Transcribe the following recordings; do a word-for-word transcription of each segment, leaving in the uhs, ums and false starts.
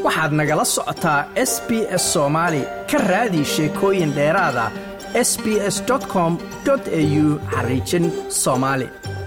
waxaad nagala socotaa S B S Soomaali ka raadi sheekooyin dheeraad ah s b s dot com dot a u xariijin Soomaali.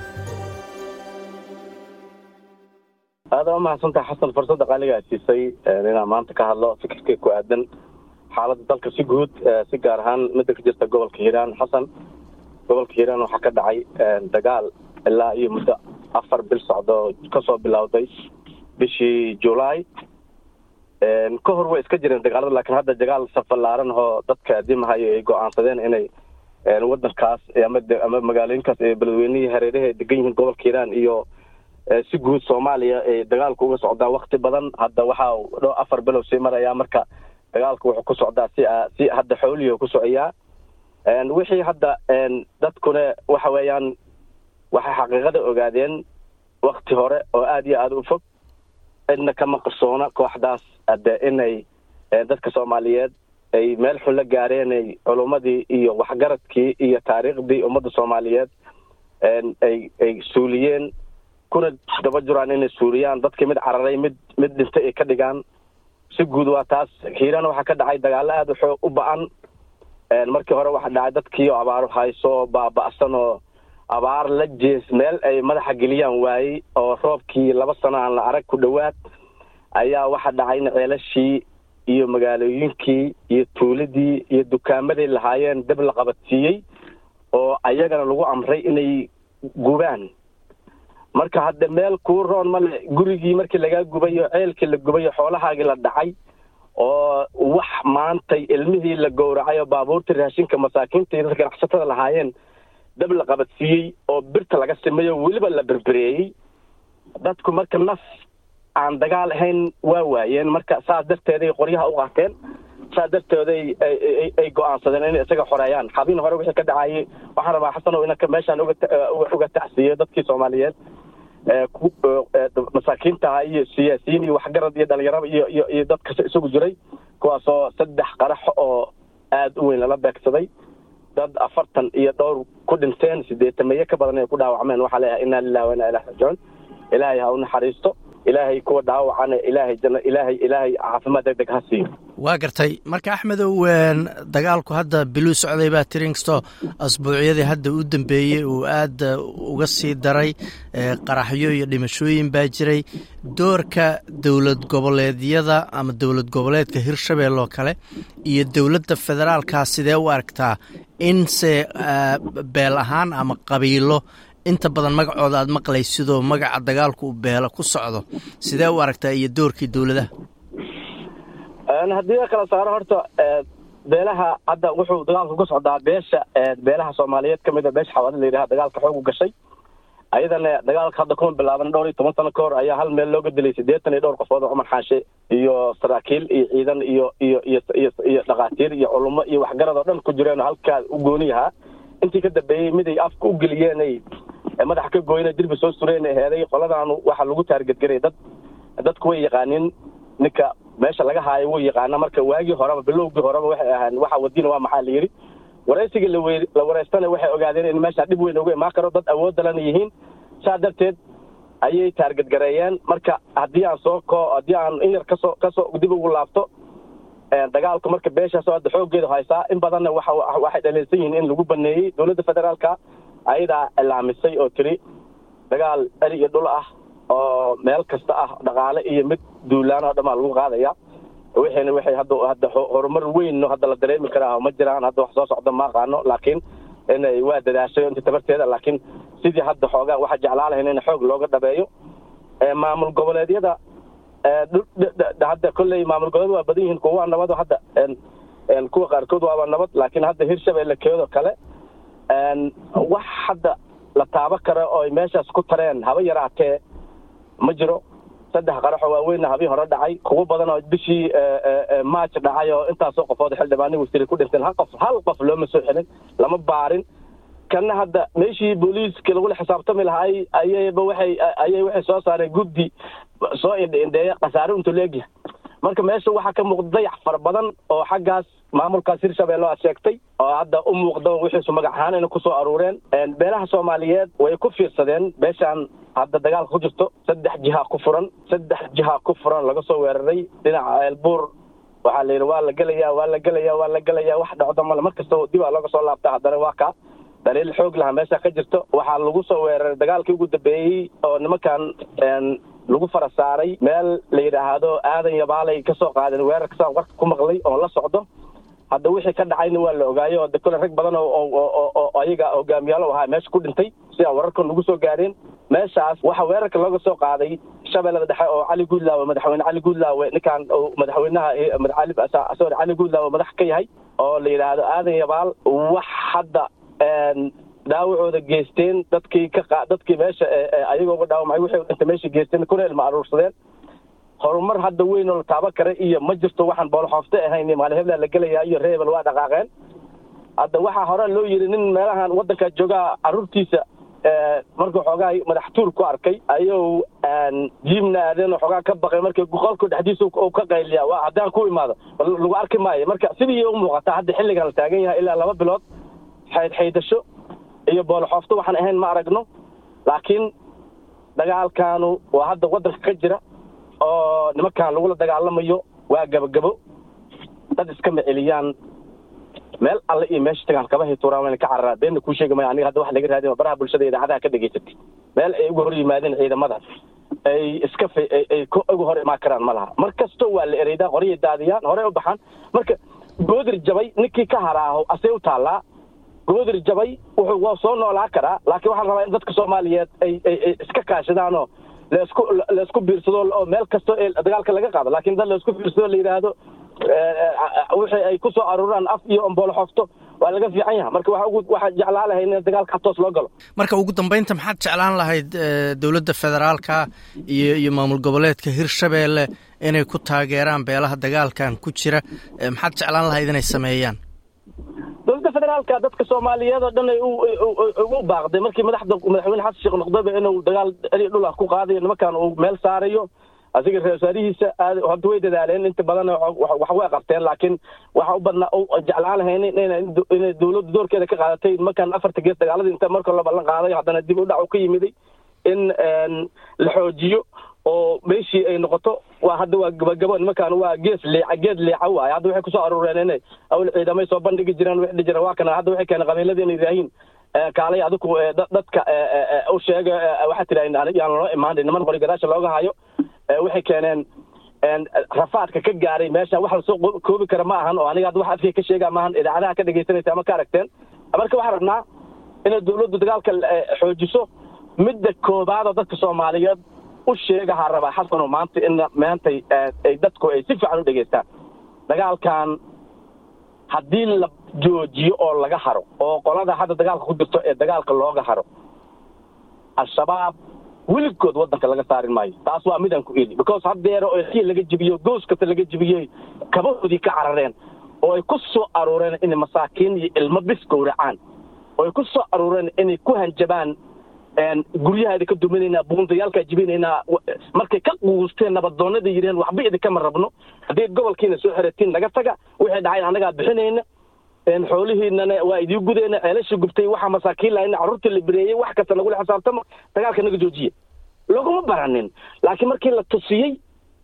هذا ما حسنت حسن فرصة قالية تيسي لنا ما أنت كهلا فكرة كوادن حالة ذلك سجود سجارهان مدة جست قبل كهيران حسن قبل كهيران وحكد عي دجال إلا يمدة أفر بالصعدة كسر بالأوضيع بشي جولاي كهر وإسكجر دجال لكن هذا دجال سفر لارن هو ضد قديم هاي جو عن صدين إني نودن كاس يمد أمام مجالين كاس بلويني هريده دقيقين قبل كهيران إيو si guud Soomaaliya ee dagaalku uga socdaa waqti badan hadda waxa uu afar bilow sii maraya marka dagaalku wuxuu ku socdaa si si hadda xooliyo ku socaya een wixii hadda een dadkuna waxa weeyaan waxa xaqiiqada ogaadeen waqti hore oo aad iyo aad u fog inna kama qarsoona kooxdaas hadda inay dadka Soomaaliyeed ay meel xul la gaareen ay culumadii iyo waxgaradkii iyo taariikhdii ummadda Soomaaliyeed een ay ay suuliyeen kuna daba jiraan in Suuriyan dadka mid cararay mid mid dhintay ay ka dhigaan si guud waa taas Hiiraan waxa ka dhacay dagaal aad u ba'an een markii hore waxa dhacay dadkii oo abaar hayso baaba'san oo abaar la jees meel ay madaxa geliyaan waayay oo roobkii laba sano aan la arag ku dhawaad ayaa waxa dhacay ceelashii iyo magaalooyinkii iyo tuuladii iyo dukaamadii lahaayeen dib la qabatiyay oo ayagana lagu amray inay gubaan marka hadda meel ku roon ma gurigii markii laga gubayo ceelkii la gubayo xoolahaagii la dhacay oo wax maantay ilmihii la gowracay oo baabuurta raashinka masaakiinta iyo dadka ganacsatada lahaayeen dab la qabadsiiyay oo birta laga sameeyo waliba la berbereeyay dadku marka naf aan dagaal ahayn waa waayeen marka saas darteed ay qoryaha u qaateen saas darteed ay ay go'aansadeen in isaga xoreeyaan xabin hore wixii ka dhacay waxaan rabaa xasan oo inaka meeshan uga uga tacsiyo dadkii Soomaaliyeed ee masaakiinta iyo siyaasiyiin iyo waxgarad iyo dhalinyarada iyo iyo dadka isugu jiray kuwaas oo saddex qarax oo aad u weyn la beegsaday dad afartan iyo dhowr ku dhinteen sideetan meeyo ka badan ay ku dhaawacmeen waxa la ilaahay inna lillahi wa inna ilayhi raaji'uun ilaahay ha u naxariisto ilaahay kuwa dhaawacana ilaahay janna ilaahay ilaahay caafimaad degdeg ha siiyo waa gartay marka Axmedow ween dagaalku hadda biluu socday baa tiringsto asbuucyadii hadda u dambeeyay oo aad uga sii daray qaraxyo iyo dhimashooyin baa jiray doorka dawlad goboleedyada ama dawlad goboleedka Hirshabeelle kale iyo dawladda federaalka sidee u aragtaa in se beel ahaan ama qabiilo inta badan magacooda aad maqlaysido magaca dagaalku u beela ku socdo sidee u aragtaa iyo doorkii dawladda أنا هديك كلا صار هرتا beelaha hadda wuxuu dagaalku ku socdaa beesha beelaha Soomaaliyeed kamid ah beesha xawada leeyahay dagaalka xoog u gashay ayadana dagaalka hadda kuma bilaaban dhowr iyo toban sano ka hor ayaa hal meel looga dilay siddeetan iyo dhowr qofood oo Umar Xaashe iyo saraakiil iyo ciidan iyo iyo iyo dhaqaatiir iyo culimo iyo waxgarad oo dhan ku jireen halka u gooniyaha intii ka dambeeyay mid ay afka u galiyeen ay madax ka gooyeen dirbi soo sureen heeday qoladan waxa lagu taarget garay dad dadku way yaqaaniin ninka meesha laga haayo way yaqaana marka waagi horeba bilowgii horeba waxay ahaan waxa wadina waa maxaa la yiri wareysiga la wareystana waxay ogaadeen in meesha dib weyn uga imaan karo dad awood dalan yihiin saadarteed ayay taarget gareeyeen marka hadii aan soo ko hadii aan in yar ka soo ka soo dib ugu laabto ee dagaalku marka beesha soo xoogeedu haysa in badan waxa waxay dhaleeysan yihiin in lagu baneeyay dawladda federaalka ayada ilaamisay oo tiri dagaal ari iyo dhul ah oo meel kasta ah dhaqaale iyo mid duulaan oo dhamaal lagu qaadaya waxayna waxay hadda hadda horumar weyn oo hadda la dareemi karaa ma jiraan hadda wax soo socda ma qaano laakiin inay waa dadaashay inta tabarteeda laakiin sidii hadda xoogaa waxa jeclaalahay in xoog looga dhabeeyo ee maamul goboleedyada ee hadda kulay maamul goboleed waa badan yihiin kuwa nabad hadda een kuwa qaarkood waa nabad laakiin hadda Hirshabeelle keedo kale een wax hadda la taaba karo oo meeshaas ku tareen haba yaraatee ma jiro saddex qarax oo weyn habi hore dhacay kuwa badan oo bishii March dhacay oo intaas oo qofood xildhibaanay wasiir ku dhinteen hal qof hal qof loo masoo xilin lama baarin kana hadda meeshii booliiska lagu xisaabtami lahaay ayayba waxay ayay waxay soo saareen guddi soo indheeya qasaaro inta leeyahay marka meesha waxa ka muuqda dayax far badan oo xaggaas maamulkaas Hirshabeelle oo sheegtay oo hadda u muuqdo wixii soo magac ahaan inay ku soo aruureen beelaha Soomaaliyeed way ku fiirsadeen beeshan hadda dagaal ku jirto saddex jiha ku furan saddex jiha ku furan laga soo weeraray dhinaca Elbuur waxa la yiri waa la galayaa waa la galayaa waa la galayaa wax dhacdo mal markasta dib laga soo laabtaa hadana waa ka daliil xoog laha meesha ka jirto waxa lagu soo weeraray dagaalkii ugu dambeeyay oo nimankan lagu farasaaray meel la yiraahdo aadan yabaalay ka soo qaadeen weerarka soo warka ku maqlay oo la socdo hadda wixii ka dhacayna waa la ogaayo dadka rag badan oo oo ayaga hogaamiyaal oo ahaa meesha ku dhintay si wararka lagu soo gaareen meeshaas waxa weerarka laga soo qaaday Shabeellada Dhexe oo Cali Guudlaawe madaxweyne Cali Guudlaawe ninkan madaxweynaha Cali Asaar Cali Guudlaawe madax ka yahay oo la yiraahdo aadan yabaal wax hadda daawacooda geesteen dadkii ka dadkii meesha ayagoo uga dhaawamay wixii inta meesha geesteen kuleel ma aruursadeen horumar hadda weyn oo la taaba kare iyo ma jirto waxaan bool xoofte ahayn maalin hebla la galaya iyo reebel waa dhaqaaqeen hadda waxa hore loo yiri nin meelahan wadanka jooga aruurtiisa markuu xogaa madax tuur ku arkay ayuu jiimna aadeen xogaa ka baqay markii qolku dhaxdiisa uu ka qayliya waa hadaan ku imaado lagu arki maayo marka sidii uu muuqata hadda xilligan la taagan yahay ilaa laba bilood xayd xaydasho iyo bool xoofto waxaan ahayn ma aragno laakiin dagaalkaanu waa hadda wadanka ka jira oo nimankan lagu la dagaalamayo waa gabagabo dad iska maceliyaan meel alla iyo meesha tagaan kaba hituraan ka carraa been ku sheegay aniga hadda wax laga raadin baraha bulshada idaacadaha ka dhageysatay meel ay ugu hor yimaadeen ciidamada ay iska ay ugu hor imaan karaan malaha markasto waa la ereeyda qoriyo daadiyaan hore u baxaan marka goodir jabay ninkii ka haraaho asay u taalaa goodir jabay wuxuu soo noolaa karaa laakiin waxaan rabaa in dadka Soomaaliyeed ay iska kaashadaan oo la isku la isku biirsado oo meel kasto ee dagaalka laga qaado laakiin dad la isku biirsado la yiraahdo wixii ay ku soo aruuraan af iyo bool xoofto waa laga fiican yahay marka waxa ugu waxa jeclaan lahayd in dagaalka toos loo galo marka ugu dambeynta maxaad jeclaan lahayd dawladda federaalka iyo iyo maamul goboleedka Hirshabeelle inay ku taageeraan beelaha dagaalkan ku jira maxaad jeclaan lahayd inay sameeyaan dawladda federaalka dadka Soomaaliyeed oo dhan ay ugu baaqday markii madaxda madaxweyne Xasan Sheekh Noqdaba inuu dagaal dhul ah ku qaadayo nimankan uu meel saarayo asiga reesaarihiisa hadda way dadaaleen inta badan wax way qabteen laakiin waxa u badna jeclaan lahayn in dawladdu doorkeeda ka qaadatay nimankan afarta gees dagaaladii inta marka la ballan qaaday haddana dib u dhac u ka yimiday in la xoojiyo oo meeshii ay noqoto waa hadda waa gabagabo nimankan waa gees leeca geed leeca waay hadda waxay ku soo aruureen inay awl ciidamay soo bandhigi jireen wax dhijira waa kana hadda waxay keenay qabiiladii inay yiraahin kaalay adigu dadka u sheega waxa tiraayin aan loo imaanay niman qori gadaasha looga hayo waxay keeneen en rafaadka ka gaaray meesha wax la soo koobi kara ma ahan oo aniga wax afkay ka sheega ma ahan idaacadaha ka dhageysanaysa ama ka aragteen marka waxa rabnaa in dawladdu dagaalka xoojiso midda koobaad oo dadka Soomaaliyeed u sheegaha raba xasan maanta in maanta ay dadku ay si fiican u dhageystaan dagaalkan haddii la joojiyo oo laga haro oo qolada hadda dagaalka ku jirto ee dagaalka looga haro al-shabaab weligood wadanka laga saarin maayo taas waa midaan ku eedi because haddeero oo kii laga jibiyo gooskata laga jibiyay kabahoodii ka carareen oo ay ku soo aruureen in masaakiin iyo ilmo bis gowracaan oo ay ku soo aruureen inay ku hanjabaan een guryaha ka duminayna buundayaalka jibinayna markay ka quusteen nabadoonada yireen waxba idin kama rabno hadii gobolkiina soo xiratiin laga taga wixii dhacay anaga bixinayna een xoolihiina waa idii gudeena ceelasha gubtay waxa masaakiin laayna carruurta la bireeyay wax kasta lagu xisaabtamo dagaalka naga joojiye laguma baranin laakiin markii la tusiyay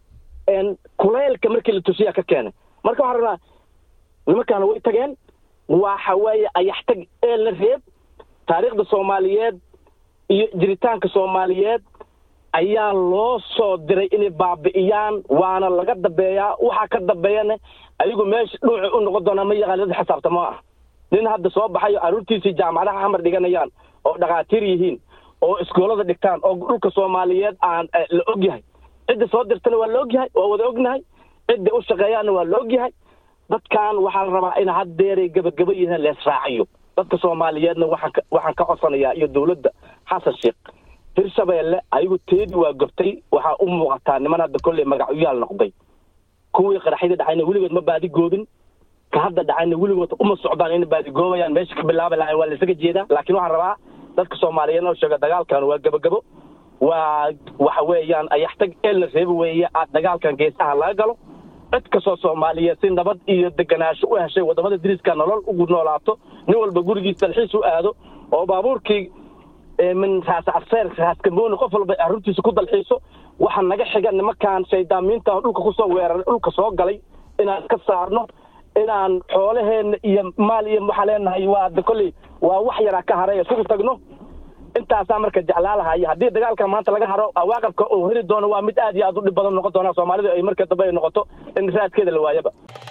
een kuleelka markii la tusiyay ka keenay marka waxa rabaa nimankan way tageen waxa way ayaxtag ee la reeb taariikhda Soomaaliyeed iyo jiritaanka Soomaaliyeed ayaa loo soo diray inay baabi'iyaan waana laga dabeeyaa waxa ka dabeeyana ayagu meesha dhuuci u noqon doona ma yaqaan xisaabtamo ah nin hadda soo baxayo aruurtiisii jaamacadaha xamar dhiganayaan oo dhaqaatiir yihiin oo iskoolada dhigtaan oo dhulka Soomaaliyeed aan la ogyahay cid soo dirtana waa la ogyahay oo wada ognahay cid u shaqeeyana waa la ogyahay dadkan waxa la rabaa in haddeeray gabagaba yihiin la israaciyo dadka Soomaaliyeedna waxaan waxaan ka codsanayaa iyo dawladda Xasan Sheekh Hirshabeelle ayagu teedi waa gabtay waxa u muuqataa niman hadda kulli magacyada noqday kuwii qaraxida dhacayna weligood ma baadi goobin ka hadda dhacayna weligood uma socdaan in baadi goobayaan meesha ka bilaabay waa la isaga jeedaa laakiin waxaan rabaa dadka Soomaaliyeed oo sheega dagaalkan waa gabagabo waa waxa weeyaan ayaxtag el reeb weeye aad dagaalkan geesaha laga galo cid kastoo Soomaaliyeed si nabad iyo deganaansho u heshay wadamada diriska nolol ugu noolaato nin walba gurigiisa dalxiis u aado oo baabuurkii min raas afseer raas kamoon qof walba arrintiisa ku dalxiiso waxa naga xiga nimankan shaydaamiinta dhulka ku soo weerar dhulka soo galay inaan ka saarno inaan xoolaheena iyo maal iyo waxa leenahay waa kulli waa wax yara ka haray isugu tagno intaas marka jeclaalahay hadii dagaalka maanta laga haro waaqabka oo heli doono waa mid aad iyo aad u dhib badan noqon doona Soomaalidu ay marka dambe noqoto in raadkeeda la waayaba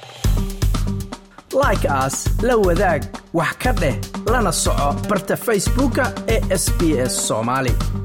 like us la wadaag wax ka dheh lana soco barta Facebook ee S B S Somali